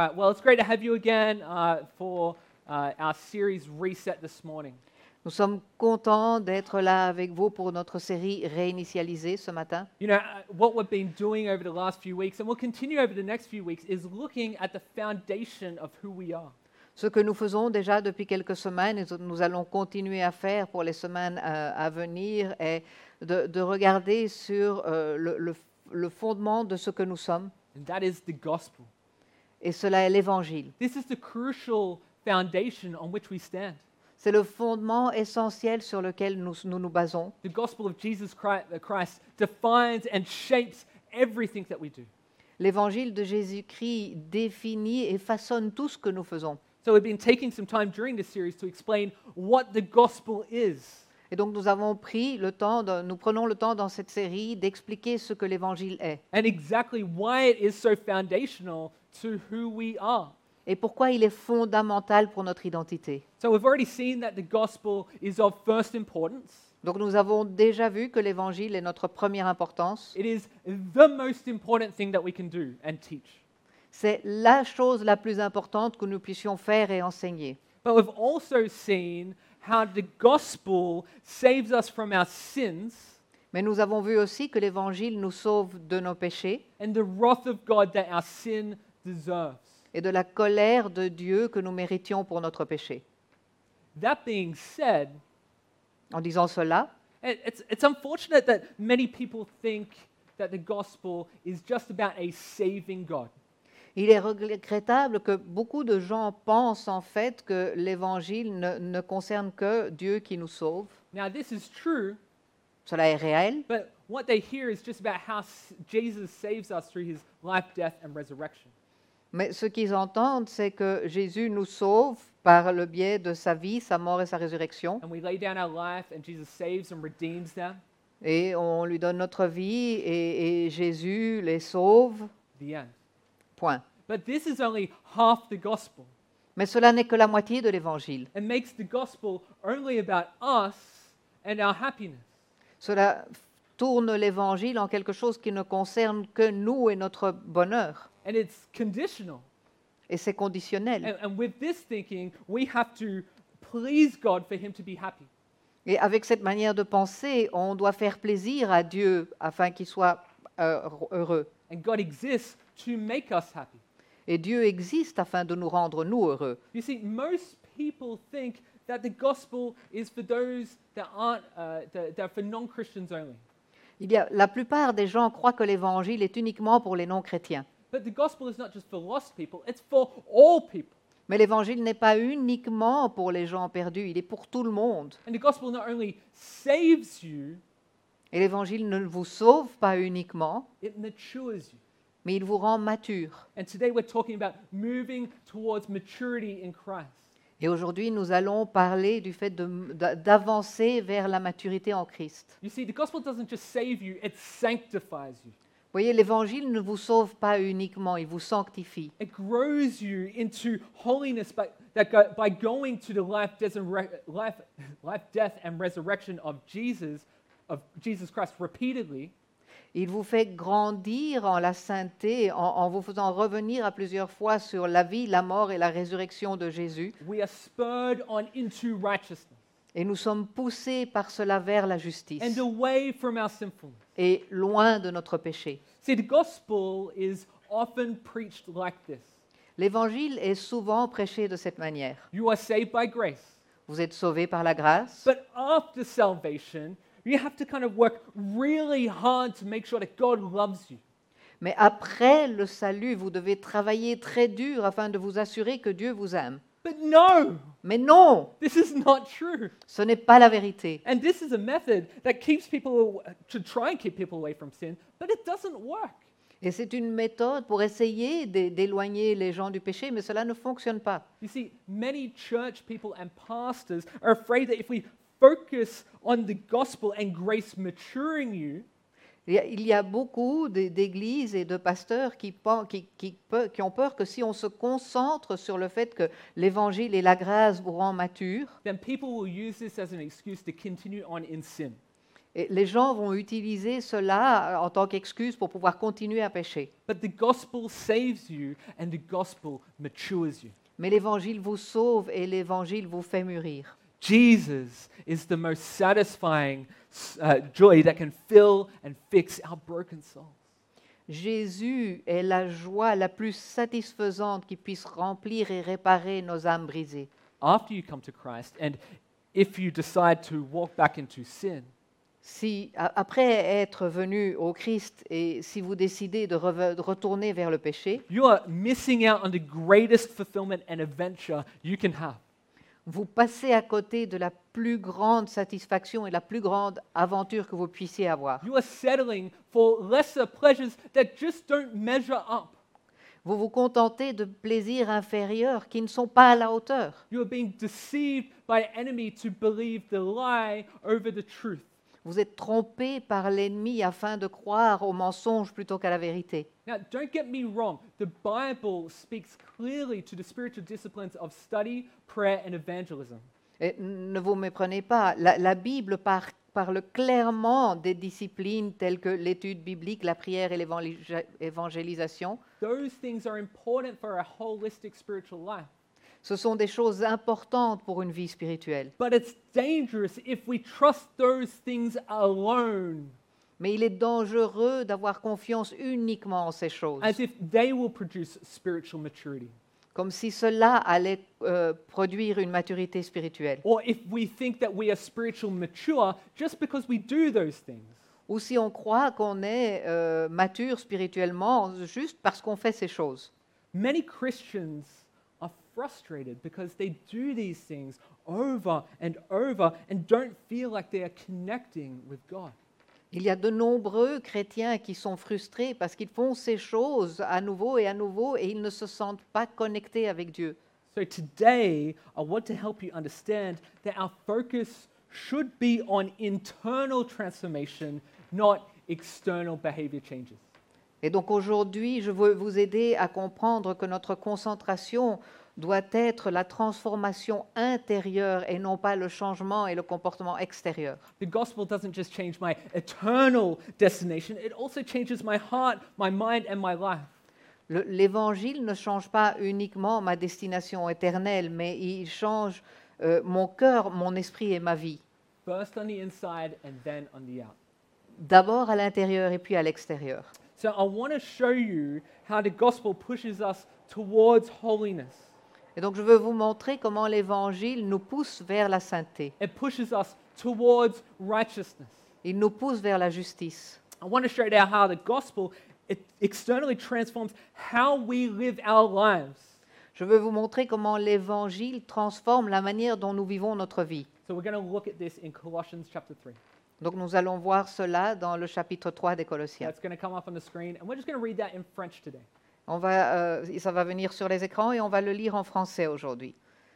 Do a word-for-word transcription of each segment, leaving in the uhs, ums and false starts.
right, well, it's great to have you again uh, for uh, our series Reset this morning. Nous sommes contents d'être là avec vous pour notre série réinitialisée ce matin. You know, uh, what we've been doing over the last few weeks, and we'll continue over the next few weeks, is looking at the foundation of who we are. Ce que nous faisons déjà depuis quelques semaines et ce que nous allons continuer à faire pour les semaines euh, à venir est de, de regarder sur euh, le, le, le fondement de ce que nous sommes, And that is the gospel. et cela est l'Évangile. This is the crucial foundation on which we stand. C'est le fondement essentiel sur lequel nous nous, nous basons. The gospel of Jesus Christ, uh, Christ defines and shapes everything that we do. L'Évangile de Jésus-Christ définit et façonne tout ce que nous faisons. So we've been taking some time during this series to explain what the gospel is. Et donc nous avons pris le temps, de, nous prenons le temps dans cette série d'expliquer ce que l'Évangile est And exactly why it is so foundational to who we are. et pourquoi il est fondamental pour notre identité. So we've already seen that the gospel is of first importance. Donc nous avons déjà vu que l'Évangile est notre première importance. It is the most important thing that we can do and teach. C'est la chose la plus importante que nous puissions faire et enseigner. But we've also seen how the gospel saves us from our sins Mais nous avons vu aussi que l'Évangile nous sauve de nos péchés and the wrath of God that our sin deserves. et de la colère de Dieu que nous méritions pour notre péché. That being said, En disant cela, it- it's, it's unfortunate that many people think that the gospel is just about a saving God. il est regrettable que beaucoup de gens pensent en fait que l'Évangile ne, ne concerne que Dieu qui nous sauve. Now, this is true, Cela est réel, but what they hear is just about how s- Jesus saves us through his life, death, and resurrection. mais ce qu'ils entendent, c'est que Jésus nous sauve par le biais de sa vie, sa mort et sa résurrection. And we lay down our life, and Jesus saves and redeems them. Et on lui donne notre vie et, et Jésus les sauve. The end. Point. But this is only half the gospel. Mais cela n'est que la moitié de l'Évangile. It makes the gospel only about us and our happiness. Cela tourne l'Évangile en quelque chose qui ne concerne que nous et notre bonheur. And it's conditional. Et c'est conditionnel. And, and with this thinking, we have to please God for him to be happy. Et avec cette manière de penser, on doit faire plaisir à Dieu afin qu'il soit euh, heureux. And God exists to make us happy. Et Dieu existe afin de nous rendre, nous, heureux. You see, most people think that the gospel is for those that aren't, uh, that, that are for non-Christians only. Il y a, la plupart des gens croient que l'Évangile est uniquement pour les non-chrétiens. But the gospel is not just for lost people, it's for all people. Mais l'Évangile n'est pas uniquement pour les gens perdus, il est pour tout le monde. And the gospel not only saves you, Et l'Évangile ne vous sauve pas uniquement, it matures you. mais il vous rend mature. And today we're talking about moving towards maturity in Christ. Et aujourd'hui, nous allons parler du fait de- d'a- d'avancer vers la maturité en Christ. You see, the gospel doesn't just save you, it sanctifies you. Vous voyez, l'Évangile ne vous sauve pas uniquement, il vous sanctifie. It grows you into holiness by, that go, by going to the life, death, and re, life, life, death, and resurrection of Jesus, of Jesus Christ repeatedly. Il vous fait grandir en la sainteté en, en vous faisant revenir à plusieurs fois sur la vie, la mort et la résurrection de Jésus. We are spurred on into righteousness Et nous sommes poussés par cela vers la justice and away from our sinfulness. et loin de notre péché. See, the gospel is often preached like this. L'Évangile est souvent prêché de cette manière. You are saved by grace, Vous êtes sauvés par la grâce, but after salvation, you have to kind of work really hard to make sure that God loves you. mais après le salut, vous devez travailler très dur afin de vous assurer que Dieu vous aime. But no, Mais non, this is not true. ce n'est pas la vérité. And this is a method that keeps people, to try and keep people away from sin, but it doesn't work. Et c'est une méthode pour essayer d'é- d'éloigner les gens du péché, mais cela ne fonctionne pas. You see, many church people and pastors are afraid that if we focus on the gospel and grace maturing you, Il y a, il y a beaucoup d'é- d'églises et de pasteurs qui, pen- qui- qui pe- qui ont peur que si on se concentre sur le fait que l'Évangile et la grâce vous rendent mature, then people will use this as an excuse to continue on in sin. Et les gens vont utiliser cela euh, en tant qu'excuse pour pouvoir continuer à pécher. But the gospel saves you and the gospel matures you. Mais l'évangile vous sauve et l'évangile vous fait mûrir. Jesus is the most satisfying uh, joy that can fill and fix our broken souls. Jésus est la joie la plus satisfaisante qui puisse remplir et réparer nos âmes brisées. After you come to Christ, and if you decide to walk back into sin, Si, a- après être venu au Christ et si vous décidez de, reve- de retourner vers le péché, you are missing out on the greatest fulfillment and adventure you can have. vous passez à côté de la plus grande satisfaction et la plus grande aventure que vous puissiez avoir. You are settling for lesser pleasures that just don't measure up. Vous vous contentez de plaisirs inférieurs qui ne sont pas à la hauteur. You are being deceived by the enemy to believe the lie over the truth. Vous êtes trompé par l'ennemi afin de croire au mensonge plutôt qu'à la vérité. Now, don't get me wrong. The Bible speaks clearly to the spiritual disciplines of study, prayer, and evangelism. Et ne vous méprenez pas, la, la Bible par- parle clairement des disciplines telles que l'étude biblique, la prière et l'évangélisation. Those things are important for a holistic spiritual life. Ce sont des choses importantes pour une vie spirituelle. But it's dangerous if we trust those things alone, Mais il est dangereux d'avoir confiance uniquement en ces choses, as if they will produce spiritual maturity. comme si cela allait euh, produire une maturité spirituelle. Or if we think that we are spiritual mature just because we do those things. Ou si on croit qu'on est euh, mature spirituellement juste parce qu'on fait ces choses. Many Christians are frustrated because they do these things over and over and don't feel like they are connecting with God. Il y a de nombreux chrétiens qui sont frustrés parce qu'ils font ces choses à nouveau et à nouveau et ils ne se sentent pas connectés avec Dieu. So today, I want to help you understand that our focus should be on internal transformation, not external behavior changes. Et donc aujourd'hui, je veux vous aider à comprendre que notre concentration doit être la transformation intérieure et non pas le changement et le comportement extérieur. The gospel doesn't just change my eternal destination, it also changes my heart, my mind, and my life. Le- L'Évangile ne change pas uniquement ma destination éternelle, mais il change euh, mon cœur, mon esprit et ma vie. First on the inside and then on the out. D'abord à l'intérieur et puis à l'extérieur. So I want to show you how the gospel pushes us towards holiness. Et donc je veux vous montrer comment l'Évangile nous pousse vers la sainteté. It pushes us towards righteousness. Il nous pousse vers la justice. I want to show you how the gospel it externally transforms how we live our lives. Je veux vous montrer comment l'Évangile transforme la manière dont nous vivons notre vie. So we're going to look at this in Colossians chapter three. Donc nous allons voir cela dans le chapitre trois des Colossiens. That's going to come up on the screen, and we're just going to read that in French today. On va, euh, ça va venir sur les écrans et on va le lire en français aujourd'hui.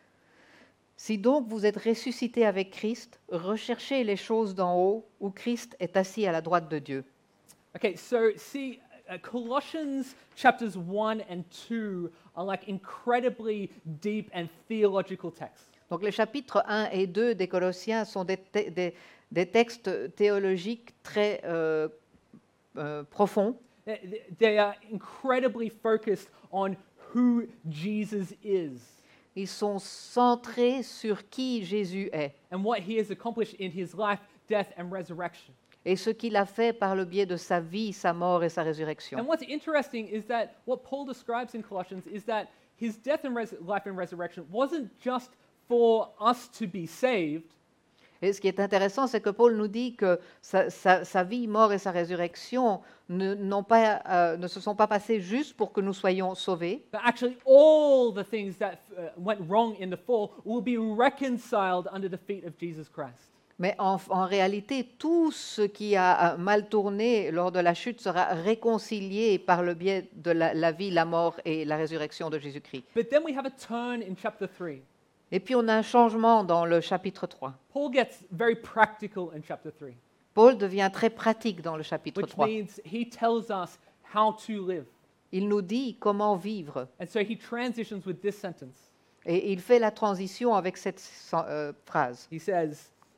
Si donc vous êtes ressuscités avec Christ, recherchez les choses d'en haut où Christ est assis à la droite de Dieu. Okay, so see, uh, Colossians chapters one and two are like incredibly deep and theological texts. Donc les chapitres un et deux des Colossiens sont des, te- des- des textes théologiques très euh, euh, profonds. They- They are incredibly focused on who Jesus is Ils sont centrés sur qui Jésus est and what he has accomplished in his life, death, and resurrection. et ce qu'il a fait par le biais de sa vie, sa mort et sa résurrection. And what's interesting is that what Paul describes in Colossians is that his death and res- life and resurrection wasn't just for us to be saved, Et ce qui est intéressant, c'est que Paul nous dit que sa, sa- sa vie, mort et sa résurrection ne, n'ont pas, euh, ne se sont pas passées juste pour que nous soyons sauvés, but actually all the things that uh, went wrong in the fall will be reconciled under the feet of Jesus Christ. mais en, en réalité, tout ce qui a euh, mal tourné lors de la chute sera réconcilié par le biais de la, la vie, la mort et la résurrection de Jésus-Christ. But then we have a turn in chapter three. Et puis on a un changement dans le chapitre trois. Paul gets very practical in chapter three, Paul devient très pratique dans le chapitre which trois. means he tells us how to live. Il nous dit comment vivre. And so he transitions with this sentence. Et il fait la transition avec cette euh, phrase. He says,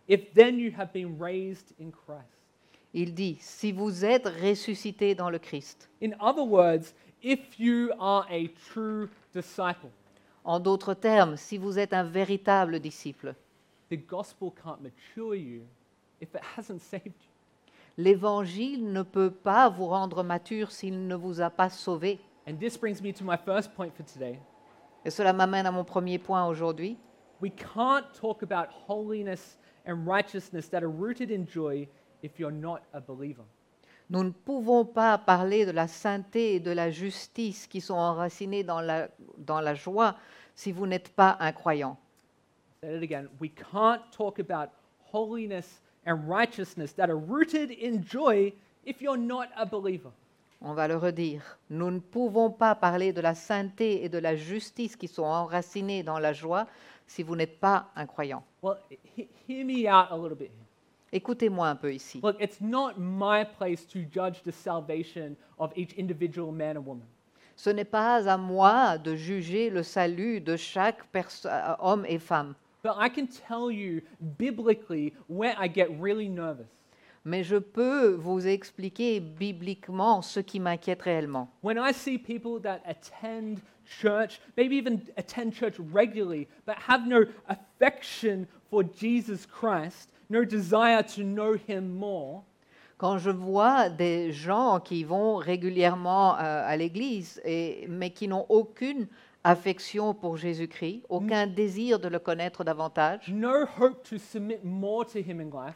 if then you have been raised in Christ. Il dit, si vous êtes ressuscités dans le Christ. In other words, if you are a true disciple, En d'autres termes, si vous êtes un véritable disciple, the gospel can't mature you if it hasn't saved you. l'Évangile ne peut pas vous rendre mature s'il ne vous a pas sauvé. And this brings me to my first point for today. Et cela m'amène à mon premier point aujourd'hui. We can't talk about holiness and righteousness that are rooted in joy if you're not a believer. Nous ne pouvons pas parler de la sainteté et de la justice qui sont enracinées dans la, dans la joie si vous n'êtes pas un croyant. Say it again. We can't talk about holiness and righteousness that are rooted in joy if you're not a believer. On va le redire. Nous ne pouvons pas parler de la sainteté et de la justice qui sont enracinées dans la joie si vous n'êtes pas un croyant. Well, he- hear me out a little bit here. Écoutez-moi un peu ici. Look, it's not my place to judge the salvation of each individual man or woman. Ce n'est pas à moi de juger le salut de chaque perso- euh, homme et femme, But I can tell you biblically where I get really nervous. mais je peux vous expliquer bibliquement ce qui m'inquiète réellement. When I see people that attend church, maybe even attend church regularly, but have no affection for Jesus Christ, no desire to know him more, Quand je vois des gens qui vont régulièrement euh, à l'église, et- mais qui n'ont aucune affection pour Jésus-Christ, aucun désir de le connaître davantage, no hope to submit more to him in life,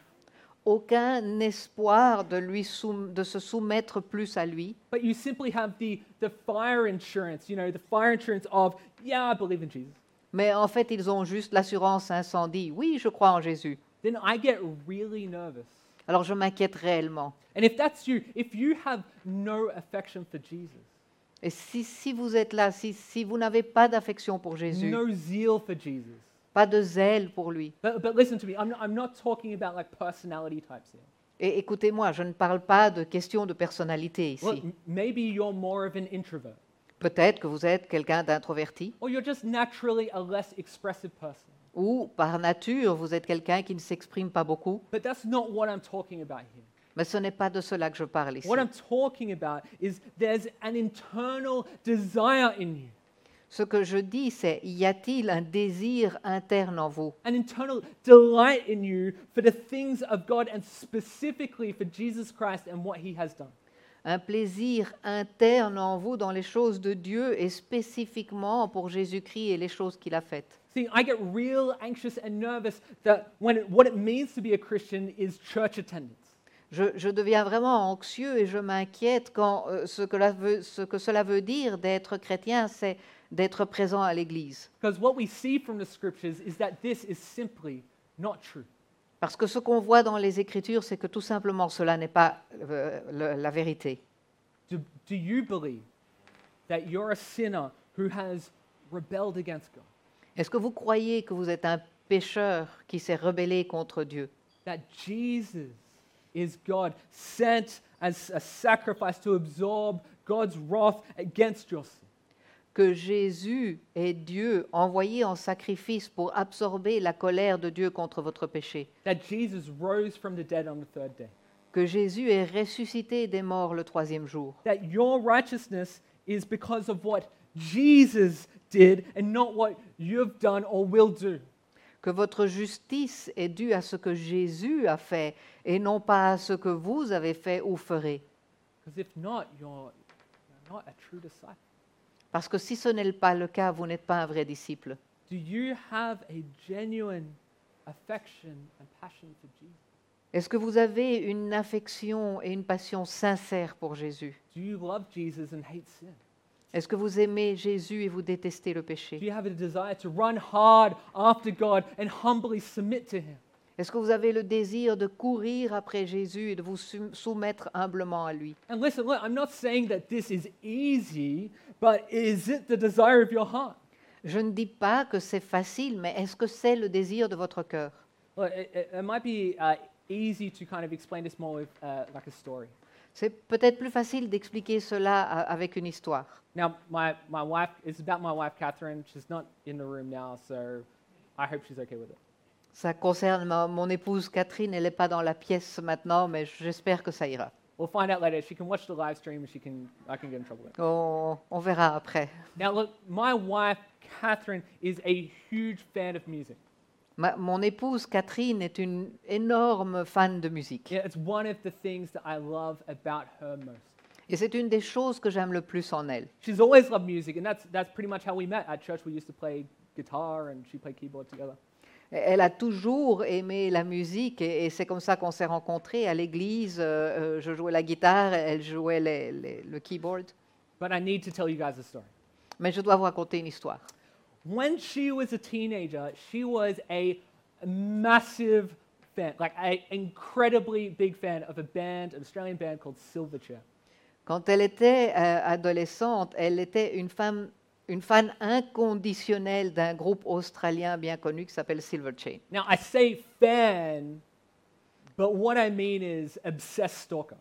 aucun espoir de, lui soum- de se soumettre plus à lui, but you simply have the, the fire insurance, you know, the fire insurance of, yeah, I believe in Jesus, mais en fait ils ont juste l'assurance incendie. Oui, je crois en Jésus. then I get really nervous. Alors je m'inquiète réellement. And if that's you, if you have no affection for Jesus, Et si, si vous êtes là, si, si vous n'avez pas d'affection pour Jésus, no zeal for Jesus, pas de zèle pour lui, but, but listen to me, I'm not, I'm not talking about like personality types here. et écoutez-moi, je ne parle pas de questions de personnalité Look, ici. m- maybe you're more of an introvert, Peut-être que vous êtes quelqu'un d'introverti, or you're just naturally a less expressive person. ou par nature, vous êtes quelqu'un qui ne s'exprime pas beaucoup, But that's not what I'm talking about here. mais ce n'est pas de cela que je parle ici. What I'm talking about is there's an internal desire in you, Ce que je dis, c'est, y a-t-il un désir interne en vous, an internal delight in you for the things of God and specifically for Jesus Christ and what he has done. un plaisir interne en vous dans les choses de Dieu et spécifiquement pour Jésus-Christ et les choses qu'il a faites? See, I get real anxious and nervous that when it, what it means to be a Christian is church attendance. Je, je deviens vraiment anxieux et je m'inquiète quand euh, ce, que la veut- ce que cela veut dire d'être chrétien, c'est d'être présent à l'Église. Because what we see from the scriptures is that this is simply not true. Parce que ce qu'on voit dans les Écritures, c'est que tout simplement cela n'est pas euh, le- la vérité. Do, do you believe that you're a sinner who has rebelled against God? Est-ce que vous croyez que vous êtes un pécheur qui s'est rebellé contre Dieu? That Jesus is God sent as a sacrifice to absorb God's wrath against your sin? Que Jésus est Dieu envoyé en sacrifice pour absorber la colère de Dieu contre votre péché? That Jesus rose from the dead on the third day? Que Jésus est ressuscité des morts le troisième jour? That your righteousness is because of what Jesus did and not what you've done or will do? Que votre justice est due à ce que Jésus a fait et non pas à ce que vous avez fait ou ferez. Because if not, you're, you're not a true disciple. Parce que si ce n'est pas le cas, vous n'êtes pas un vrai disciple. Do you have a genuine affection and passion for Jesus? Est-ce que vous avez une affection et une passion sincère pour Jésus? Do you love Jesus and hate sin? Est-ce que vous aimez Jésus et vous détestez le Do péché? you have a desire to run hard after God and humbly submit to Him? Est-ce que vous avez le désir de courir après Jésus et de vous sou- soumettre humblement à lui? And listen, look, I'm not saying that this is easy, but is it the desire of your heart? Je ne dis pas que c'est facile, mais est-ce que c'est le désir de votre cœur? Look, it, it, it might be uh, easy to kind of explain this more with uh, like a story. C'est peut-être plus facile d'expliquer cela a- avec une histoire. Now, my, my wife, it's about my wife, Catherine. She's not in the room now, so I hope she's okay with it. Ça concerne ma- mon épouse Catherine, elle n'est pas dans la pièce maintenant, mais j'espère que ça ira. We'll find out later. She can watch the live stream and she can, I can get in trouble with it. On, on verra après. Now, look, my wife, Catherine, is a huge fan of music. Ma- mon épouse Catherine est une énorme fan de musique. Yeah, it's one of the things that I love about her most. Et c'est une des choses que j'aime le plus en elle. She's always loved music, and that's, that's pretty much how we met. At church, we used to play guitar, and she played keyboard together. Elle a toujours aimé la musique et, et c'est comme ça qu'on s'est rencontrés à l'église. Euh, euh, je jouais la guitare, elle jouait les- les- le keyboard. But I need to tell you guys a story. Mais je dois vous raconter une histoire. When she was a teenager, she was a massive fan, like an incredibly big fan of a band, an Australian band called Silverchair. Quand elle était euh, adolescente, elle était une, femme, une fan inconditionnelle d'un groupe australien bien connu qui s'appelle Silverchair. Now, I say fan, but what I mean is obsessed stalker.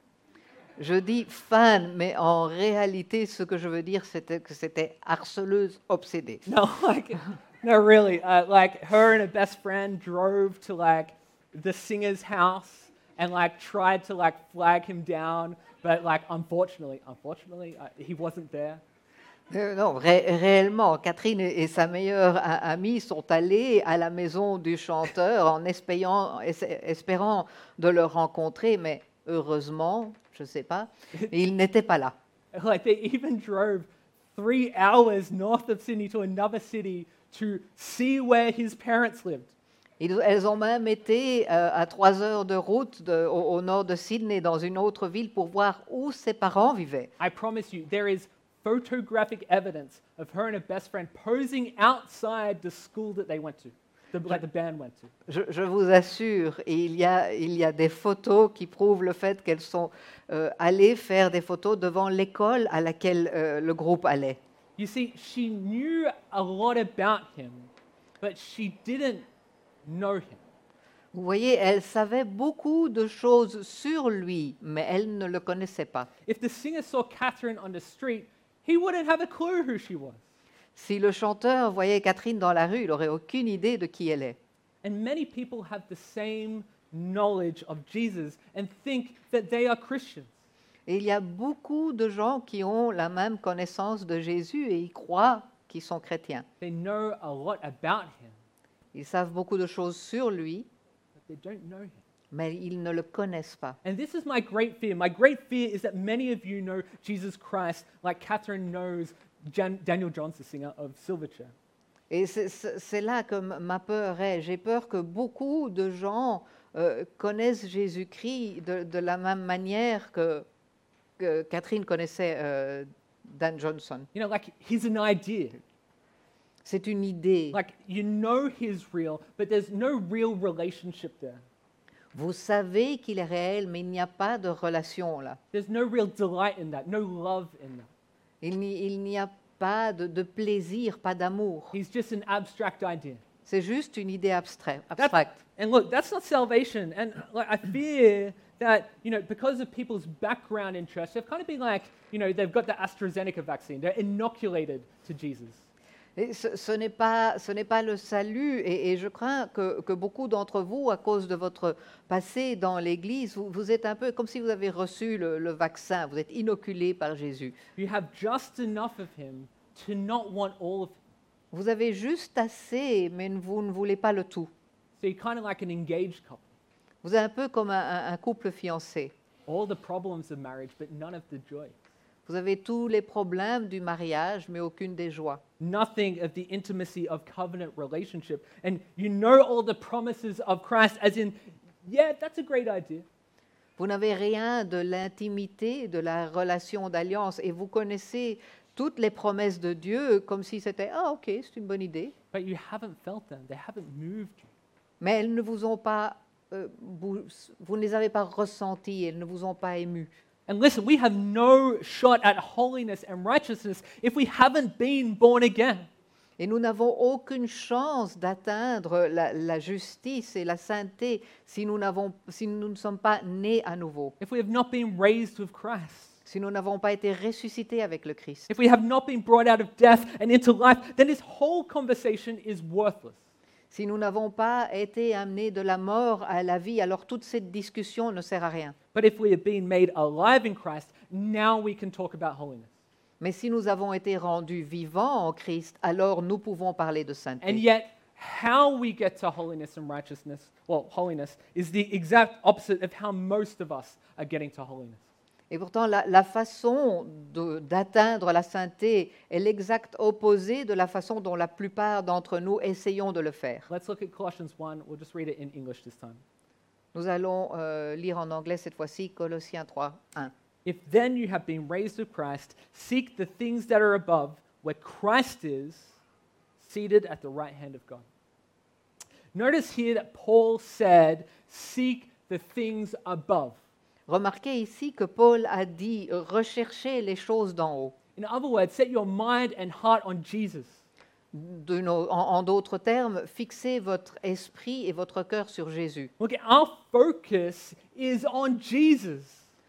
Je dis fan, mais en réalité, ce que je veux dire, c'était que c'était harceleuse obsédée. No, like, no, really. Uh, like, her and her best friend drove to like the singer's house and like tried to like flag him down, but like unfortunately, unfortunately, uh, he wasn't there. Euh, non, ré- réellement, Catherine et, et sa meilleure a- amie sont allées à la maison du chanteur en espérant, es- espérant de le rencontrer, mais heureusement, je ne sais pas, il n'était pas là. Like, they even drove three hours north of Sydney to another city to see where his parents lived. Ils- elles ont même été euh, à trois heures de route de- au, au nord de Sydney, dans une autre ville, pour voir où ses parents vivaient. I promise you, there is photographic evidence of her and her best friend posing outside the school that they went to, the, like the band went to. Je, je vous assure, il y, a, il y a des photos qui prouvent le fait qu'elles sont euh, allées faire des photos devant l'école à laquelle euh, le groupe allait. You see, she knew a lot about him, but she didn't know him. Vous voyez, elle savait beaucoup de choses sur lui, mais elle ne le connaissait pas. If the singer saw Catherine on the street, he wouldn't have a clue who she was. Si le chanteur voyait Catherine dans la rue, il n'aurait aucune idée de qui elle est. And many people have the same knowledge of Jesus and think that they are Christians. Et il y a beaucoup de gens qui ont la même connaissance de Jésus et ils croient qu'ils sont chrétiens. They know a lot about him, Ils savent beaucoup de choses sur lui, but they don't know him. mais ils ne le connaissent pas. And this is my great fear. My great fear is that many of you know Jesus Christ like Catherine knows Jan- Daniel Johns, the singer of Silverchair. Et c'est- c'est c'est là que m- ma peur est. J'ai peur que beaucoup de gens euh, connaissent Jésus-Christ de, de la même manière que, que Catherine connaissait euh, Dan Johnson. You know, like he's an idea. C'est une idée. Like you know he's real, but there's no real relationship there. Vous savez qu'il est réel, mais il n'y a pas de relation là. There's no real delight in that, no love in that. Il n'y il n'y a pas de, de plaisir, pas d'amour. He's just an abstract idea. C'est juste une idée abstrait- That's- abstracte. and look, that's not salvation. And like, I fear that, you know, because of people's background in church, they've kind of been like, you know, they've got the AstraZeneca vaccine. They're inoculated to Jesus. Et ce ce n'est pas, ce n'est pas le salut, et, et je crains que, que beaucoup d'entre vous, à cause de votre passé dans l'Église, vous, vous êtes un peu comme si vous avez reçu le, le vaccin, vous êtes inoculé par Jésus. You have just enough of him to not want all of him. Vous avez juste assez, mais vous ne voulez pas le tout. So you're kind of like an engaged couple. Vous êtes un peu comme un, un- un couple fiancé. All the problems of marriage, but none of the joy. Vous avez tous les problèmes du mariage, mais aucune des joies. Nothing of the intimacy of covenant relationship. And you know all the promises of Christ, as in, yeah, that's a great idea. Vous n'avez rien de l'intimité, de la relation d'alliance, et vous connaissez toutes les promesses de Dieu comme si c'était « Ah, ok, c'est une bonne idée ». But you haven't felt them, they haven't moved you. Mais elles ne vous ont pas, euh, vous, vous ne les avez pas ressenties, elles ne vous ont pas ému. And listen, we have no shot at holiness and righteousness if we haven't been born again. Et nous n'avons aucune chance d'atteindre la, la justice et la sainteté si nous, n'avons, si nous ne sommes pas nés à nouveau, If we have not been raised with Christ. si nous n'avons pas été ressuscités avec le Christ. If we have not been brought out of death and into life, then this whole conversation is worthless. Si nous n'avons pas été amenés de la mort à la vie, alors toute cette discussion ne sert à rien. But if we have been made alive in Christ, now we can talk about holiness. Mais si nous avons été rendus vivants en Christ, alors nous pouvons parler de And sainteté. yet, how we get to holiness and righteousness, well, holiness, is the exact opposite of how most of us are getting to holiness. Et pourtant, la, la façon de- d'atteindre la sainteté est l'exact opposé de la façon dont la plupart d'entre nous essayons de le faire. Let's look at Colossians one. We'll just read it in English this time. Nous allons euh, lire en anglais cette fois-ci Colossiens trois, un. If then you have been raised with Christ, seek the things that are above, where Christ is, seated at the right hand of God. Notice here that Paul said, seek the things above. Remarquez ici que Paul a dit euh, recherchez les choses d'en haut. In other words, set your mind and heart on Jesus. De nos- en en d'autres termes, fixez votre esprit et votre cœur sur Jésus. Look, our focus is on Jesus.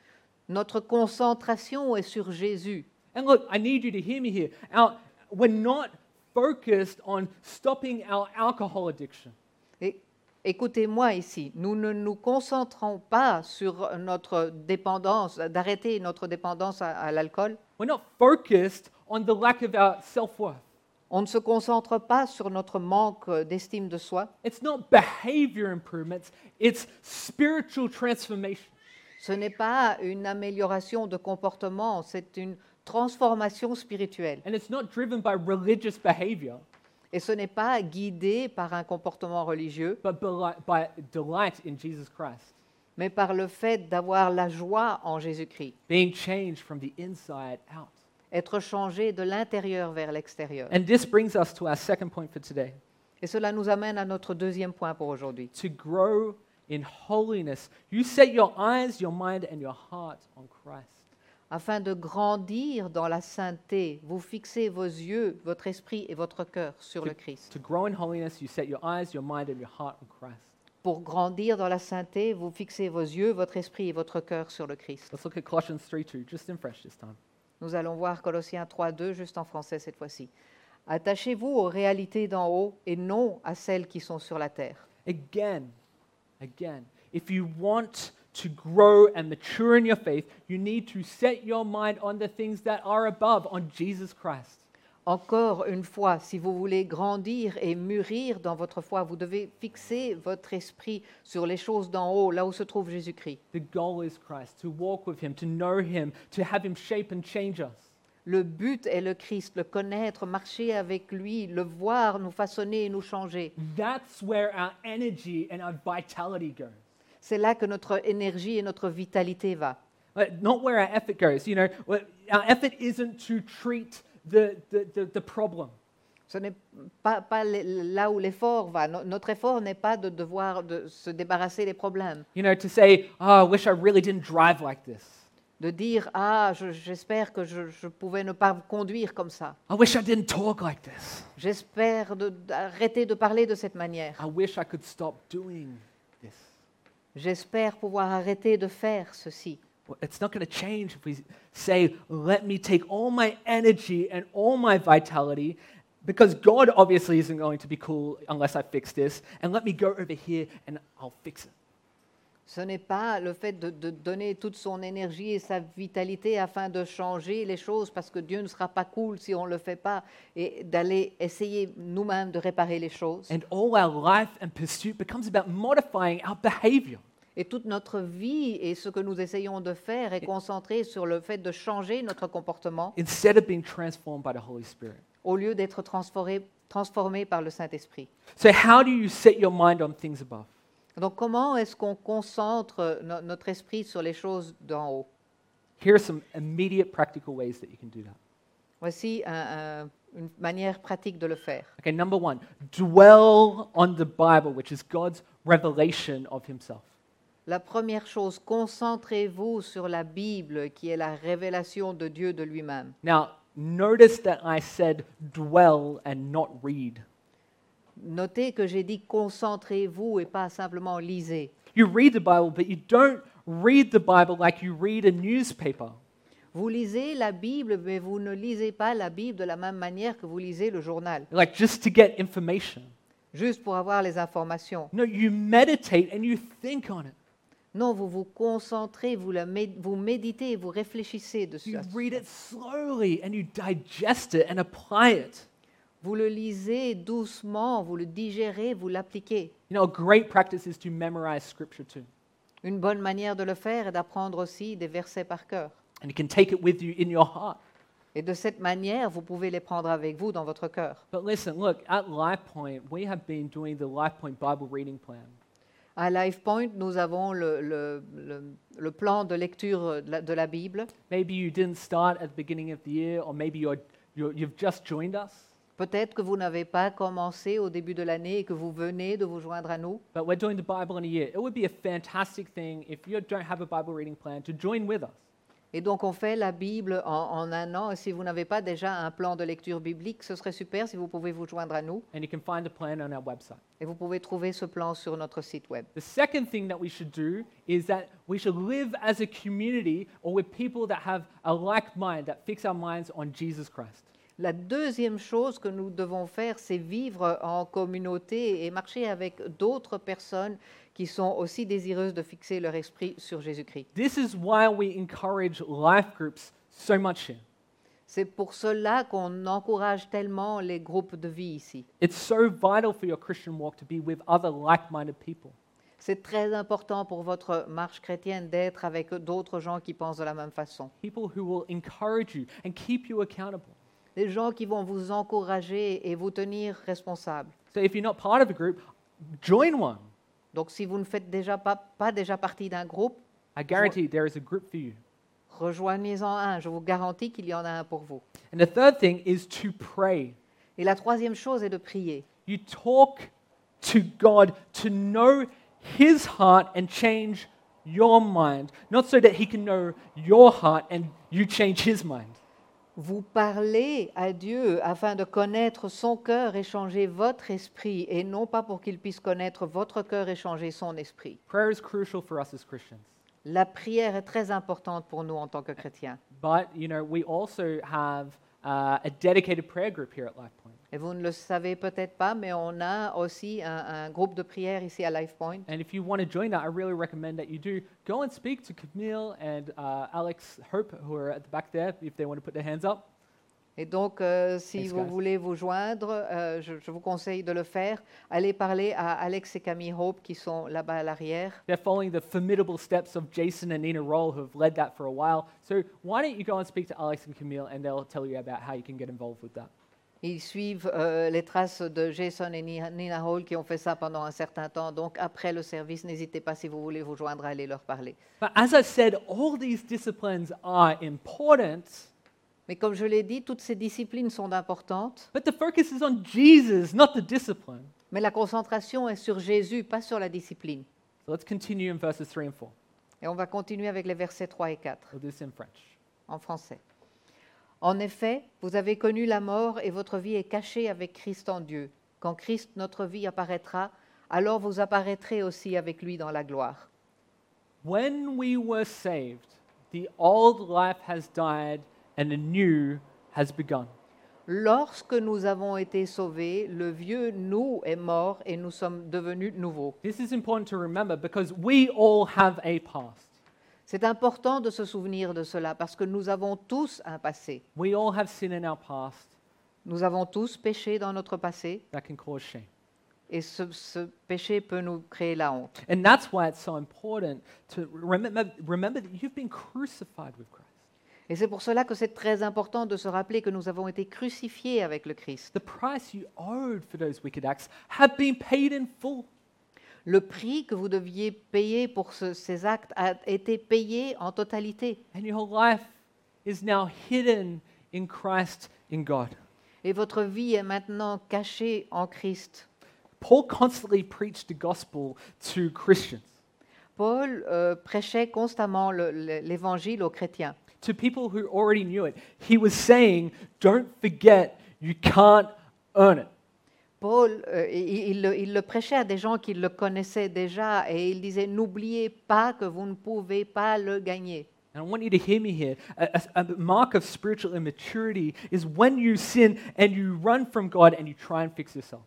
Notre concentration est sur Jésus. And look, I need you to hear me here. Our, we're not focused on stopping our alcohol addiction. Et écoutez-moi ici, nous ne nous concentrons pas sur notre dépendance, d'arrêter notre dépendance à, à l'alcool. We're not focused on the lack of our self-worth. On ne se concentre pas sur notre manque d'estime de soi. It's not behavior improvements, it's spiritual transformation. Ce n'est pas une amélioration de comportement, c'est une transformation spirituelle. And it's not driven by religious behavior, Et ce n'est pas guidé par un comportement religieux, but by, by delight in Jesus Christ, mais par le fait d'avoir la joie en Jésus-Christ, being changed from the inside out. être changé de l'intérieur vers l'extérieur. And this brings us to our second point for today. Et cela nous amène à notre deuxième point pour aujourd'hui. To grow in holiness, you set your eyes, your mind, and your heart on Christ. Afin de grandir dans la sainteté, vous fixez vos yeux, votre esprit et votre cœur sur le Christ. To grow in holiness, you set your eyes, your mind, and your heart on Christ. Pour grandir dans la sainteté, vous fixez vos yeux, votre esprit et votre cœur sur le Christ. Let's look at Colossians three two, just in fresh this time. Nous allons voir Colossiens trois deux, juste en français cette fois-ci. Attachez-vous aux réalités d'en haut et non à celles qui sont sur la terre. Again, again, if you want to grow and mature in your faith, you need to set your mind on the things that are above, on Jesus Christ. Encore une fois, si vous voulez grandir et mûrir dans votre foi, vous devez fixer votre esprit sur les choses d'en haut, là où se trouve Jésus-Christ. The goal is Christ, to walk with Him, to know Him, to have Him shape and change us. Le but est le Christ, le connaître, marcher avec lui, le voir, nous façonner et nous changer. That's where our energy and our vitality goes. C'est là que notre énergie et notre vitalité va. Like, not where our effort goes. You know, where- our effort isn't to treat the, the, the, the problem. Ce n'est pas, pas les- là où l'effort va. No- notre effort n'est pas de devoir de se débarrasser des problèmes, You know, to say, oh, I wish I really didn't drive like this. de dire « Ah, je- j'espère que je, je pouvais ne pas conduire comme ça. I wish I didn't talk like this. J'espère de- d'arrêter de parler de cette manière. I wish I could stop doing this. J'espère pouvoir arrêter de faire ceci. » Well, it's not going to change if we say, let me take all my energy and all my vitality, because God obviously isn't going to be cool unless I fix this, and let me go over here and I'll fix it. Ce n'est pas le fait de, de donner toute son énergie et sa vitalité afin de changer les choses parce que Dieu ne sera pas cool si on ne le fait pas et d'aller essayer nous-mêmes de réparer les choses. And all our life and pursuit becomes about modifying our behavior. Et toute notre vie et ce que nous essayons de faire est concentré sur le fait de changer notre comportement Instead of being transformed by the Holy Spirit. au lieu d'être transformé, transformé par le Saint-Esprit. So, how do you set your mind on things above? Donc comment est-ce qu'on concentre no- notre esprit sur les choses d'en haut? Here are some immediate practical ways that you can do that. Voici un- un- une manière pratique de le faire. Okay, number one, dwell on the Bible, which is God's revelation of Himself. La première chose, concentrez-vous sur la Bible qui est la révélation de Dieu de lui-même. Now, notice that I said dwell and not read. Notez que j'ai dit concentrez-vous et pas simplement lisez. You read the Bible, but you don't read the Bible like you read a newspaper. Vous lisez la Bible, mais vous ne lisez pas la Bible de la même manière que vous lisez le journal. Like just to get information. juste pour avoir les informations. No, you meditate and you think on it. Non, vous vous concentrez, vous, la mé- vous méditez, vous réfléchissez dessus. You read it slowly and you digest it and apply it. Vous le lisez doucement, vous le digérez, vous l'appliquez. You know, a great practice is to memorize scripture too. Une bonne manière de le faire est d'apprendre aussi des versets par cœur. And you can take it with you in your heart. Et de cette manière, vous pouvez les prendre avec vous dans votre cœur. But listen, look, at LifePoint, we have been doing the LifePoint Bible reading plan. À LifePoint, nous avons le, le- le- le plan de lecture de la, de la Bible. Maybe you didn't start at the beginning of the year, or maybe you're, you're, you've just joined us. Peut-être que vous n'avez pas commencé au début de l'année et que vous venez de vous joindre à nous. But we're doing the Bible in a year. It would be a fantastic thing if you don't have a Bible reading plan to join with us. Et donc on fait la Bible en, en un an. Et si vous n'avez pas déjà un plan de lecture biblique, ce serait super si vous pouvez vous joindre à nous. And you can find a plan on our website. Et vous pouvez trouver ce plan sur notre site web. The second thing that we should do is that we should live as a community or with people that have a like mind, that fix our minds on Jesus Christ. La deuxième chose que nous devons faire, c'est vivre en communauté et marcher avec d'autres personnes qui sont aussi désireuses de fixer leur esprit sur Jésus-Christ. This is why we encourage life groups so much here. C'est pour cela qu'on encourage tellement les groupes de vie ici. It's so vital for your Christian walk to be with other like-minded people. C'est très important pour votre marche chrétienne d'être avec d'autres gens qui pensent de la même façon. People who will encourage you and keep you accountable. Des gens qui vont vous encourager et vous tenir responsable. So if you're not part of a group, join one. Donc si vous ne faites déjà pas, pas déjà partie d'un groupe, I guarantee there is a group for you. rejoignez-en un. Je vous garantis qu'il y en a un pour vous. And the third thing is to pray. Et la troisième chose est de prier. You talk to God to know His heart and change your mind, not so that He can know your heart and you change His mind. Vous parlez à Dieu afin de connaître son cœur et changer votre esprit, et non pas pour qu'il puisse connaître votre cœur et changer son esprit. Prayer is crucial for us as Christians. La prière est très importante pour nous en tant que chrétiens. But, you know, we also have uh, a dedicated prayer group here at LifePoint. Et vous ne le savez peut-être pas, mais on a aussi un, un groupe de prière ici à LifePoint. And if you want to join that, I really recommend that you do. Go and speak to Camille and uh, Alex Hope, who are at the back there, if they want to put their hands up. Et donc, euh, si Thanks, vous guys. voulez vous joindre, euh, je, je vous conseille de le faire. Allez parler à Alex et Camille Hope qui sont là-bas à l'arrière. They're following the formidable steps of Jason and Nina Roll, who have led that for a while. So why don't you go and speak to Alex and Camille, and they'll tell you about how you can get involved with that. Ils suivent euh, les traces de Jason et Ni- Nina Hall qui ont fait ça pendant un certain temps. Donc, après le service, n'hésitez pas, si vous voulez vous joindre, à aller leur parler. But as I said, all these disciplines are important, Mais comme je l'ai dit, toutes ces disciplines sont importantes, but the focus is on Jesus, not the discipline. mais la concentration est sur Jésus, pas sur la discipline. So let's continue in verses three and four. Et on va continuer avec les versets trois et quatre, We'll do this in French. en français. En effet, vous avez connu la mort et votre vie est cachée avec Christ en Dieu. Quand Christ, notre vie, apparaîtra, alors vous apparaîtrez aussi avec lui dans la gloire. When we were saved, the old life has died and the new has begun. Lorsque nous avons été sauvés, le vieux nous est mort et nous sommes devenus nouveaux. This is important to remember because we all have a past. C'est important de se souvenir de cela parce que nous avons tous un passé. We all have sin in our past Nous avons tous péché dans notre passé that can cause shame. et ce, ce péché peut nous créer la honte. And that's why it's so important to remember, remember that you've been crucified with Christ. Et c'est pour cela que c'est très important de se rappeler que nous avons été crucifiés avec le Christ. The price you owed for those wicked acts have been paid in full. Le prix que vous deviez payer pour ce- ces actes a été payé en totalité. And your life is now hidden in Christ in God. Et votre vie est maintenant cachée en Christ. Paul constantly preached the gospel to Christians, Paul euh, prêchait constamment le- le- l'évangile aux chrétiens. to people who already knew it. He was saying, don't forget, you can't earn it. Paul, euh, il, il le, il le prêchait à des gens qui le connaissaient déjà et il disait, n'oubliez pas que vous ne pouvez pas le gagner. And I want you to hear me here. A, a- a mark of spiritual immaturity is when you sin and you run from God and you try and fix yourself.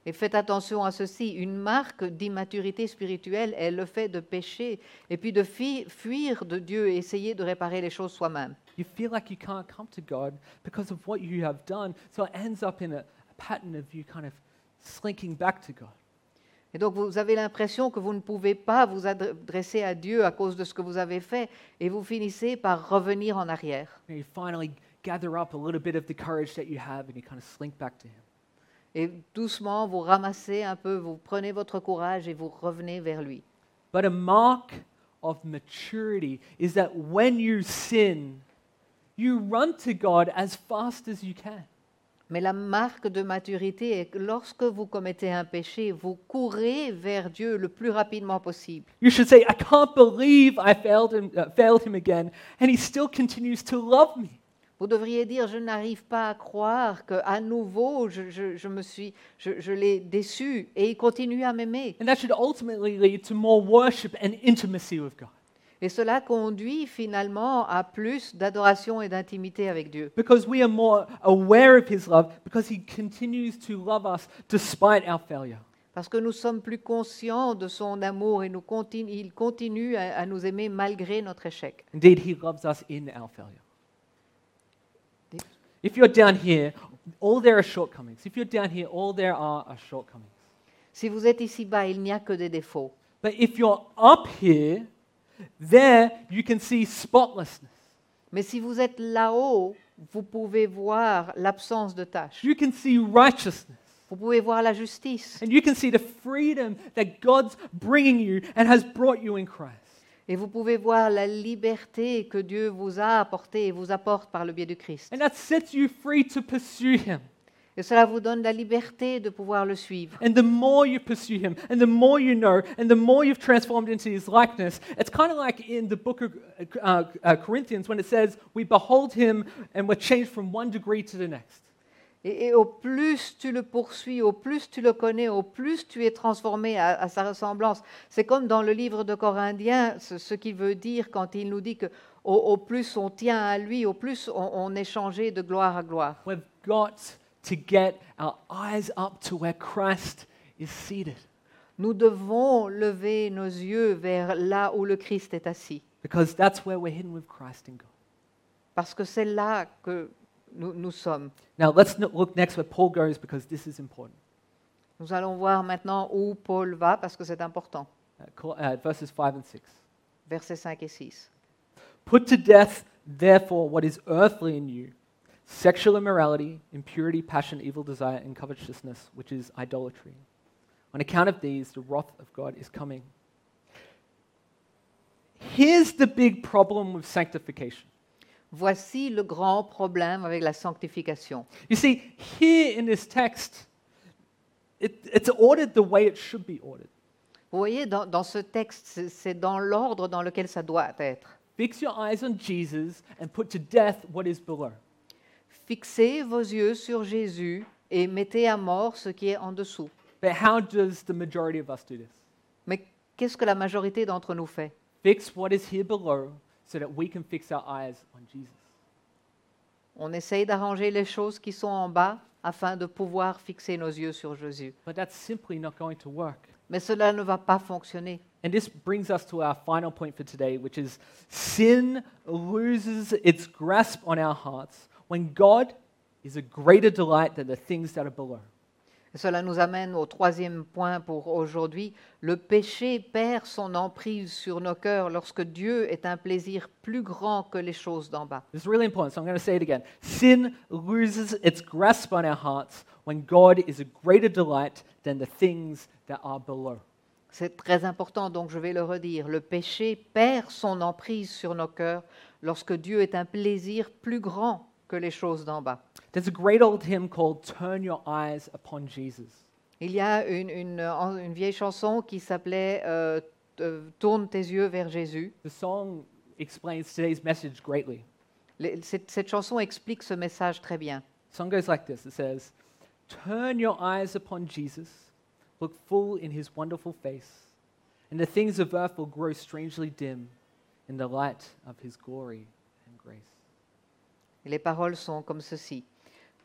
Et faites attention à ceci, une marque d'immaturité spirituelle est le fait de pécher et puis de fi- fuir de Dieu et essayer de réparer les choses soi-même. You feel like you can't come to God because of what you have done, so it ends up in a, a pattern of you kind of slinking back to God. Et donc vous avez l'impression que vous ne pouvez pas vous adresser à Dieu à cause de ce que vous avez fait et vous finissez par revenir en arrière. And you finally gather up a little bit of the courage that you have and you kind of slink back to Him. Et doucement, vous ramassez un peu, vous prenez votre courage et vous revenez vers lui. But a mark of maturity is that when you sin, you run to God as fast as you can. Mais la marque de maturité est que lorsque vous commettez un péché, vous courez vers Dieu le plus rapidement possible. You should say, I can't believe I failed him, uh, failed him again, and He still continues to love me. Vous devriez dire, je n'arrive pas à croire qu'à nouveau, je, je, je me suis, je, je l'ai déçu et il continue à m'aimer. And that should ultimately lead to more worship and intimacy with God. Et cela conduit finalement à plus d'adoration et d'intimité avec Dieu. Because we are more aware of His love, because He continues to love us despite our failure. Parce que nous sommes plus conscients de son amour et nous continue, il continue à, à nous aimer malgré notre échec. Indeed, He loves us in our failure. If you're down here, all there are shortcomings. If you're down here, all there are are shortcomings. Si vous êtes ici-bas, il n'y a que des défauts. But if you're up here, there you can see spotlessness. Mais si vous êtes là-haut, vous pouvez voir l'absence de tâches. You can see righteousness. Vous pouvez voir la justice. And you can see the freedom that God's bringing you and has brought you in Christ. Et vous pouvez voir la liberté que Dieu vous a apportée et vous apporte par le biais du Christ. And that sets you free to pursue Him. Et cela vous donne la liberté de pouvoir le suivre. And the more you pursue Him, and the more you know, and the more you've transformed into His likeness, it's kind of like in the book of uh, uh, Corinthians when it says, we behold Him and we're changed from one degree to the next. Et, et au plus tu le poursuis, au plus tu le connais, au plus tu es transformé à, à sa ressemblance. C'est comme dans le livre de Corinthiens, ce, ce qu'il veut dire quand il nous dit que au, au plus on tient à lui, au plus on, on est changé de gloire à gloire. We've got to get our eyes up to where Christ is seated, Nous devons lever nos yeux vers là où le Christ est assis, because that's where we're hidden with Christ in God. parce que c'est là que nous, nous sommes. Now let's no- look next where Paul goes, because this is important. Nous allons voir maintenant où Paul va, parce que c'est important. Uh, call- uh, verses five and six. Versets cinq et six. Put to death, therefore, what is earthly in you: sexual immorality, impurity, passion, evil desire, and covetousness, which is idolatry. On account of these, the wrath of God is coming. Here's the big problem with sanctification. Voici le grand problème avec la sanctification. You see, here in this text, it, it's ordered the way it should be ordered. Vous voyez, dans, dans ce texte, c'est- c'est dans l'ordre dans lequel ça doit être. Fix your eyes on Jesus and put to death what is below. Fixez vos yeux sur Jésus et mettez à mort ce qui est en dessous. But how does the majority of us do this? Mais qu'est-ce que la majorité d'entre nous fait? Fix what is here below so that we can fix our eyes on Jesus. On essaye d'arranger les choses qui sont en bas afin de pouvoir fixer nos yeux sur Jésus. But that's simply not going to work. Mais cela ne va pas fonctionner. And this brings us to our final point for today, which is sin loses its grasp on our hearts when God is a greater delight than the things that are below. Et cela nous amène au troisième point pour aujourd'hui. Le péché perd son emprise sur nos cœurs lorsque Dieu est un plaisir plus grand que les choses d'en bas. This is really important, so I'm going to say it again. Sin loses its grasp on our hearts when God is a greater delight than the things that are below. C'est très important, donc je vais le redire. Le péché perd son emprise sur nos cœurs lorsque Dieu est un plaisir plus grand que les choses d'en bas. There's a great old hymn called Turn Your Eyes Upon Jesus. Il y a une, une, euh, une vieille chanson qui s'appelait euh, euh, Tourne tes yeux vers Jésus. The song explains today's message greatly. Les- cette, cette chanson explique ce message très bien. The song goes like this. It says, Turn your eyes upon Jesus, look full in his wonderful face, and the things of earth will grow strangely dim in the light of his glory and grace. Et les paroles sont comme ceci.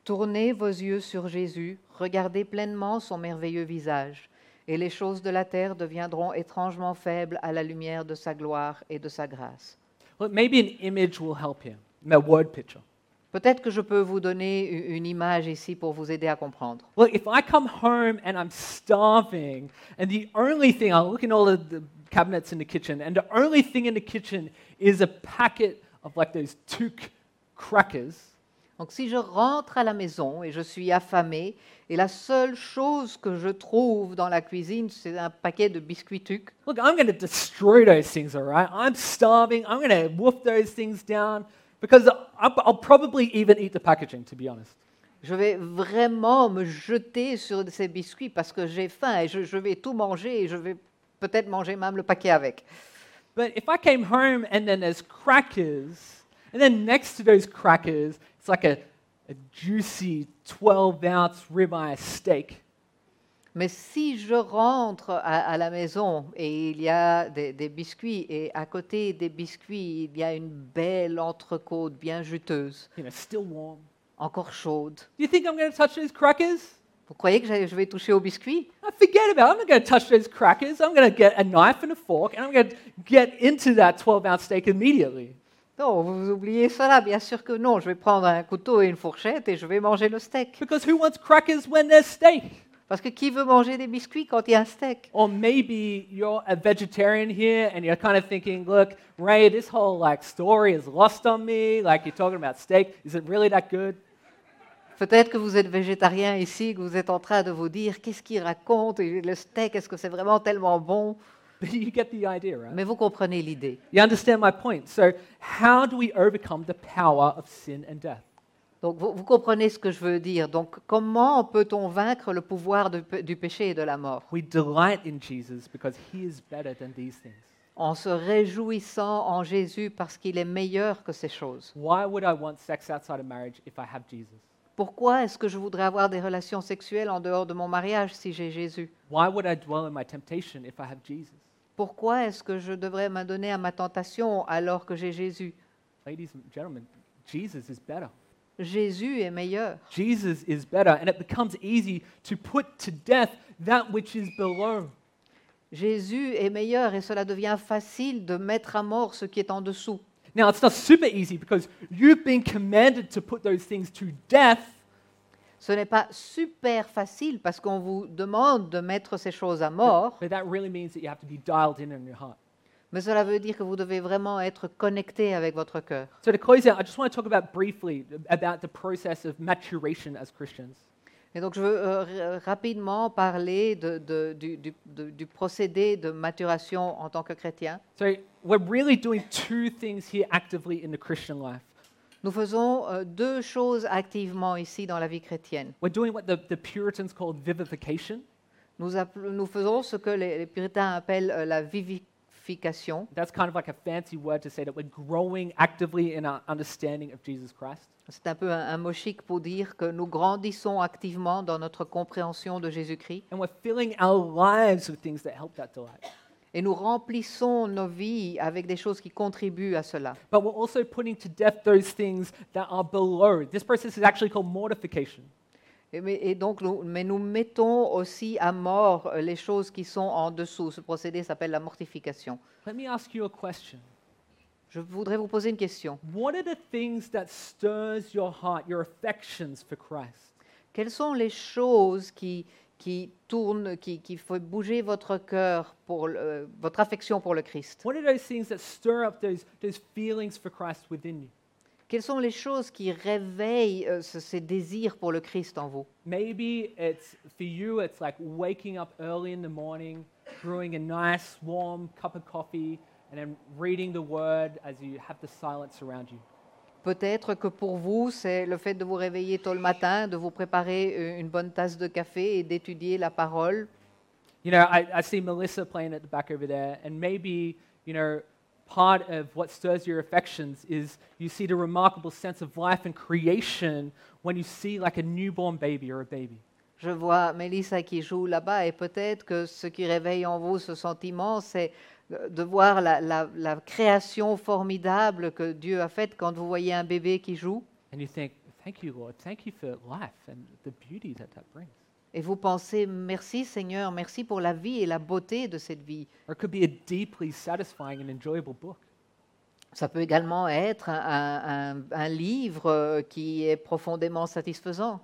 Tournez vos yeux sur Jésus, regardez pleinement son merveilleux visage, et les choses de la terre deviendront étrangement faibles à la lumière de sa gloire et de sa grâce. Look, maybe an image will help here, a word picture. Peut-être que je peux vous donner u- une image ici pour vous aider à comprendre. Look, if I come home and I'm starving, and the only thing, I look in all of the cabinets in the kitchen, and the only thing in the kitchen is a packet of like those Took crackers, Donc si je rentre à la maison et je suis affamée, et la seule chose que je trouve dans la cuisine, c'est un paquet de biscuits Tuc, look, I'm going to destroy those things, all right? I'm starving. I'm going to wolf those things down because I'll, I'll probably even eat the packaging, to be honest. je vais vraiment me jeter sur ces biscuits parce que j'ai faim et je, je vais tout manger et je vais peut-être manger même le paquet avec. But if I came home and then there's crackers, and then next to those crackers, it's like a, a juicy twelve ounce ribeye steak. Mais si je rentre à, à la maison et il y a des, des biscuits et à côté des biscuits, il y a une belle entrecôte bien juteuse, You know, still warm. encore chaude, Do you think I'm going to touch those crackers? vous croyez que j'ai- je vais toucher aux biscuits? I forget about it. I'm not going to touch those crackers. I'm going to get a knife and a fork, and I'm going to get into that twelve ounce steak immediately. Non, vous oubliez cela, bien sûr que non. Je vais prendre un couteau et une fourchette et je vais manger le steak. Because who wants crackers when there's steak? Parce que qui veut manger des biscuits quand il y a un steak? Or maybe you're a vegetarian here and you're kind of thinking, look, Ray, this whole like story is lost on me. Like you're talking about steak. Is it really that good? Peut-être que vous êtes végétarien ici, que vous êtes en train de vous dire qu'est-ce qu'il raconte et le steak, est-ce que c'est vraiment tellement bon? But you get the idea, right? Mais vous comprenez l'idée. You understand my point. So how do we overcome the power of sin and death? Donc vous, vous comprenez ce que je veux dire. Donc comment peut-on vaincre le pouvoir de- du péché et de la mort? We delight in Jesus because he is better than these things. En se réjouissant en Jésus parce qu'il est meilleur que ces choses. Why would I want sex outside of marriage if I have Jesus? Pourquoi est-ce que je voudrais avoir des relations sexuelles en dehors de mon mariage si j'ai Jésus? Why would I dwell in my temptation if I have Jesus? Pourquoi est-ce que je devrais m'adonner à ma tentation alors que j'ai Jésus? Ladies and gentlemen, Jesus is better. Jésus est meilleur. Jesus is better, and it becomes easy to put to death that which is below. Jésus est meilleur et cela devient facile de mettre à mort ce qui est en dessous. Now, it's not super easy because you've been commanded to put those things to death, Ce n'est pas super facile parce qu'on vous demande de mettre ces choses à mort, but that really means that you have to be dialed in in your heart. mais cela veut dire que vous devez vraiment être connecté avec votre cœur. So, to close out, I just want to talk about briefly about the process of maturation as Christians. Et donc je veux euh, r- rapidement parler de- de- du, du- de- du procédé de maturation en tant que chrétien. So, we're really doing two things here actively in the Christian life. Nous faisons euh, deux choses activement ici dans la vie chrétienne. We're doing what the, the Puritans called vivification. Nous, appel- nous faisons ce que les, les puritains appellent euh, la vivification. That's kind of like a fancy word to say that we're growing actively in our understanding of Jesus Christ. C'est un peu un, un mot chic pour dire que nous grandissons activement dans notre compréhension de Jésus-Christ And we're filling our lives with things that help that delight. et nous remplissons nos vies avec des choses qui contribuent à cela. But we're also putting to death those things that are below. This process is actually called mortification. Et, mais, et donc, nous, mais nous mettons aussi à mort euh, les choses qui sont en dessous. Ce procédé s'appelle la mortification. Let me ask you a question. Je voudrais vous poser une question. What are the things that stirs your heart, your affections for Christ? Quelles sont les choses qui, qui tournent, qui, qui font bouger votre cœur, pour le- euh, votre affection pour le Christ? What are those things that stir up those, those feelings for Christ within you? Quelles sont les choses qui réveillent euh, ce- ces désirs pour le Christ en vous? Maybe it's for you, it's like waking up early in the morning, brewing a nice warm cup of coffee, and then reading the word as you have the silence around you. Peut-être que pour vous, c'est le fait de vous réveiller tôt le matin, de vous préparer euh, une bonne tasse de café et d'étudier la parole. You know, I, I see Melissa playing at the back over there, and maybe, you know, part of what stirs your affections is you see the remarkable sense of life and creation when you see like a newborn baby or a baby. Je vois Mélissa qui joue là-bas et peut-être que ce qui réveille en vous ce sentiment, c'est euh, de voir la, la- la création formidable que Dieu a faite quand vous voyez un bébé qui joue. And you think, thank you, Lord. Thank you for life and the beauty that that brings. Et vous pensez, merci Seigneur, merci pour la vie et la beauté de cette vie. Or it could be a deeply satisfying and enjoyable book. Ça peut également être un, un- un livre euh, qui est profondément satisfaisant.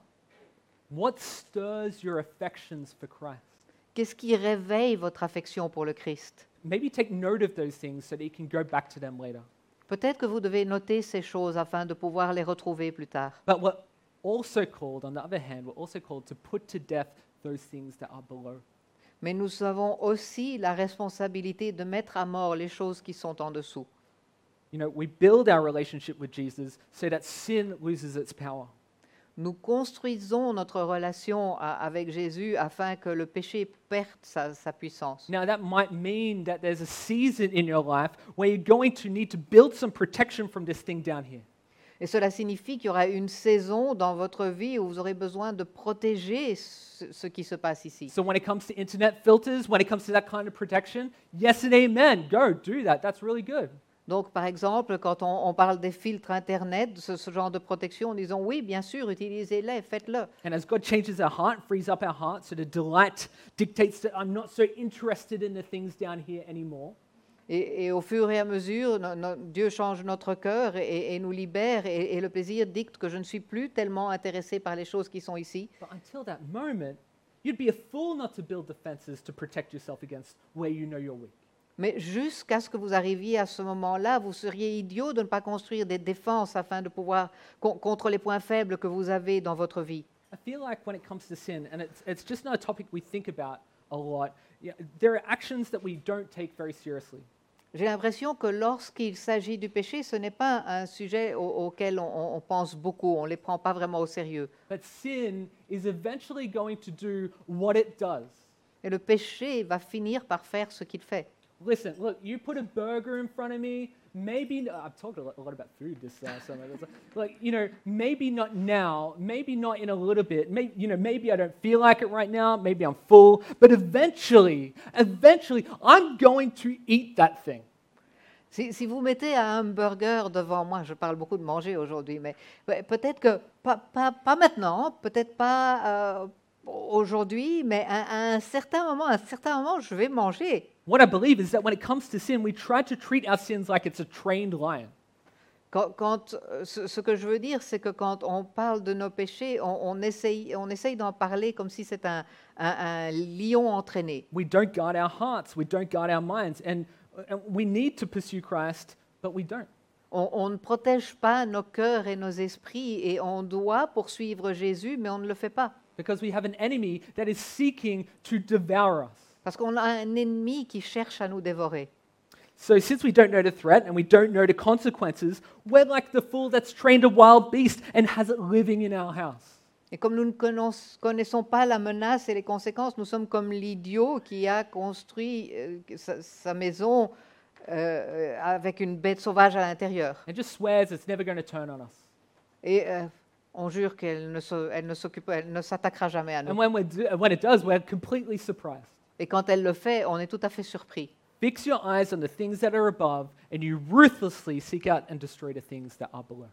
What stirs your affections for Christ? Qu'est-ce qui réveille votre affection pour le Christ? Maybe take note of those things so that you can go back to them later. Peut-être que vous devez noter ces choses afin de pouvoir les retrouver plus tard. But we're also called, on the other hand, we're also called to put to death those things that are below. Mais nous avons aussi la responsabilité de mettre à mort les choses qui sont en dessous. You know, we build our relationship with Jesus so that sin loses its power. Nous construisons notre relation à- avec Jésus afin que le péché perde sa, sa puissance. Now, that might mean that there's a season in your life where you're going to need to build some protection from this thing down here. Et cela signifie qu'il y aura une saison dans votre vie où vous aurez besoin de protéger ce, ce qui se passe ici. So when it comes to internet filters, when it comes to that kind of protection, yes and amen, go, do that. That's really good. Donc, par exemple, quand on, on parle des filtres Internet, ce, ce genre de protection, disons oui, bien sûr, utilisez-les, faites-le. And as God changes our heart, frees up our heart, so the delight dictates that I'm not so interested in the things down here anymore. Et, et au fur et à mesure, no- no- Dieu change notre cœur et, et nous libère, et, et le plaisir dicte que je ne suis plus tellement intéressé par les choses qui sont ici. But until that moment, you'd be a fool not to build defenses to protect yourself against where you know you're weak. Mais jusqu'à ce que vous arriviez à ce moment-là, vous seriez idiot de ne pas construire des défenses afin de pouvoir con- contre les points faibles que vous avez dans votre vie. I feel like when it comes to sin, and it's, it's just not a topic we think about a lot, yeah, there are actions that we don't take very seriously. J'ai l'impression que lorsqu'il s'agit du péché, ce n'est pas un sujet au- auquel on, on pense beaucoup, on ne les prend pas vraiment au sérieux. But sin is eventually going to do what it does. Et le péché va finir par faire ce qu'il fait. Listen, look, you put a burger in front of me, maybe, I've talked a lot, a lot about food this uh, summer. Like, you know, maybe not now, maybe not in a little bit, maybe, you know, maybe I don't feel like it right now, maybe I'm full, but eventually, eventually, I'm going to eat that thing. Si, si vous mettez un hamburger devant moi, je parle beaucoup de manger aujourd'hui, mais ouais, peut-être que, pas, pas, pas maintenant, peut-être pas euh, aujourd'hui, mais à, à un certain moment, à un certain moment, je vais manger. What I believe is that when it comes to sin, we try to treat our sins like it's a trained lion. Quand, quand, euh, ce, ce que je veux dire, c'est que quand on parle de nos péchés, on, on essaye, on essaye d'en parler comme si c'était un, un- un lion entraîné. We don't guard our hearts, we don't guard our minds, and, and we need to pursue Christ, but we don't. On, on ne protège pas nos cœurs et nos esprits et on doit poursuivre Jésus, mais on ne le fait pas. Because we have an enemy that is seeking to devour us. Parce qu'on a un ennemi qui cherche à nous dévorer. So, since we don't know the threat and we don't know the consequences, we're like the fool that's trained a wild beast and has it living in our house. Et comme nous ne connaiss- connaissons pas la menace et les conséquences, nous sommes comme l'idiot qui a construit euh, sa, sa maison euh, avec une bête sauvage à l'intérieur. And just swears it's never going to turn on us. Et euh, on jure qu'elle ne, se- elle ne s'occupe- elle ne s'attaquera jamais à And nous. when, we do, when it does, we're completely surprised. Et quand elle le fait, on est tout à fait surpris. Fix your eyes on the things that are above, and you ruthlessly seek out and destroy the things that are below.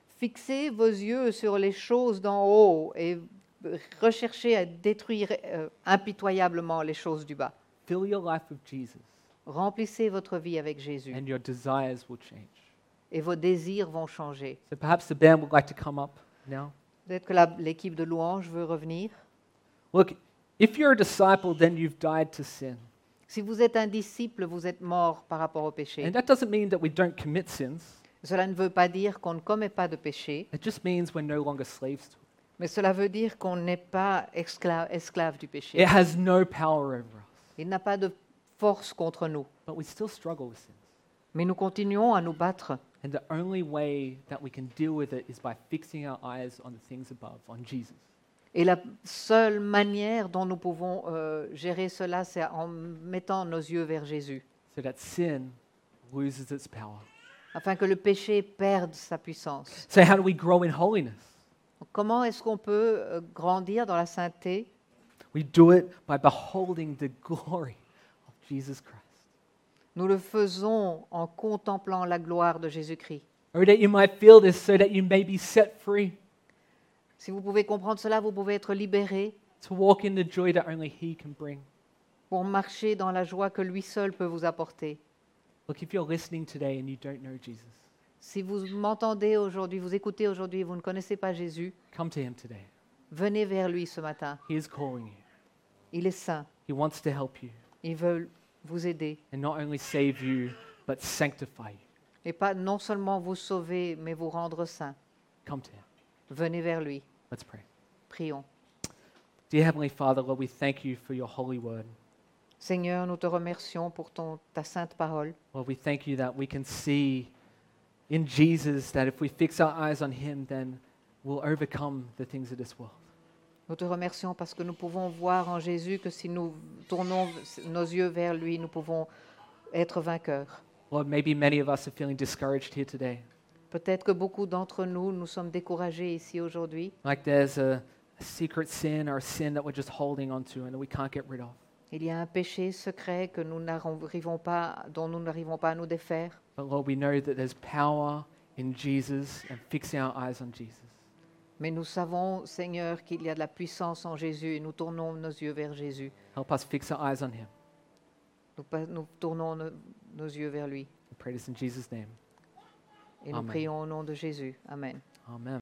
Fixez vos yeux sur les choses d'en haut et recherchez à détruire euh, impitoyablement les choses du bas. Fill your life with Jesus, Remplissez votre vie avec Jésus and your desires will change. et vos désirs vont changer. So perhaps the band would like to come up now. Peut-être que la- l'équipe de louange veut revenir. Look, if you're a disciple, then you've died to sin. Si vous êtes un disciple, vous êtes mort par rapport au péché. And that doesn't mean that we don't commit sins. Cela ne veut pas dire qu'on ne commet pas de péché, It just means we're no longer slaves to it. mais cela veut dire qu'on n'est pas esclave, esclave du péché. It has no power over us, Il n'a pas de force contre nous. but we still struggle with sins. Mais nous continuons à nous battre. And the only way that we can deal with it is by fixing our eyes on the things above, on Jesus. Et la seule manière dont nous pouvons euh, gérer cela, c'est en mettant nos yeux vers Jésus, So that sin loses its power. afin que le péché perde sa puissance. So, how do we grow in holiness? Comment est-ce qu'on peut euh, grandir dans la sainteté? We do it by beholding the glory of Jesus Christ. Nous le faisons en contemplant la gloire de Jésus-Christ, Or that you might feel this so that you may be set free. Si vous pouvez comprendre cela, vous pouvez être libéré to walk in the joy that only He can bring. pour marcher dans la joie que lui seul peut vous apporter. Look, if you're listening today and you don't know Jesus, Si vous m'entendez aujourd'hui, vous écoutez aujourd'hui et vous ne connaissez pas Jésus, come to Him today. venez vers lui ce matin. He is calling you. Il est saint. He wants to help you Il veut vous aider. and not only save you, but sanctify you. Et pas non seulement vous sauver, mais vous rendre saint. Come to Him. Venez vers lui. Let's pray. Prions. Dear Heavenly Father, Lord, we thank you for your holy word. Seigneur, nous te remercions pour ton, ta sainte parole. Lord, we thank you that we can see in Jesus that if we fix our eyes on Him, then we'll overcome the things of this world. Nous te remercions parce que nous pouvons voir en Jésus que si nous tournons nos yeux vers lui, nous pouvons être vainqueurs. Lord, maybe many of us are feeling discouraged here today. Peut-être que beaucoup d'entre nous, nous sommes découragés ici aujourd'hui. Like there's a, a secret sin or a sin that we're just holding onto and that we can't get rid of. Il y a un péché secret que nous n'arrivons pas, dont nous n'arrivons pas à nous défaire. But Lord, we know that there's power in Jesus and fixing our eyes on Jesus. Mais nous savons, Seigneur, qu'il y a de la puissance en Jésus et nous tournons nos yeux vers Jésus. Help us fix our eyes on Him. Nous, pa- nous tournons no- nos yeux vers lui. We pray this in Jesus' name. Et nous Amen. prions au nom de Jésus. Amen. Amen.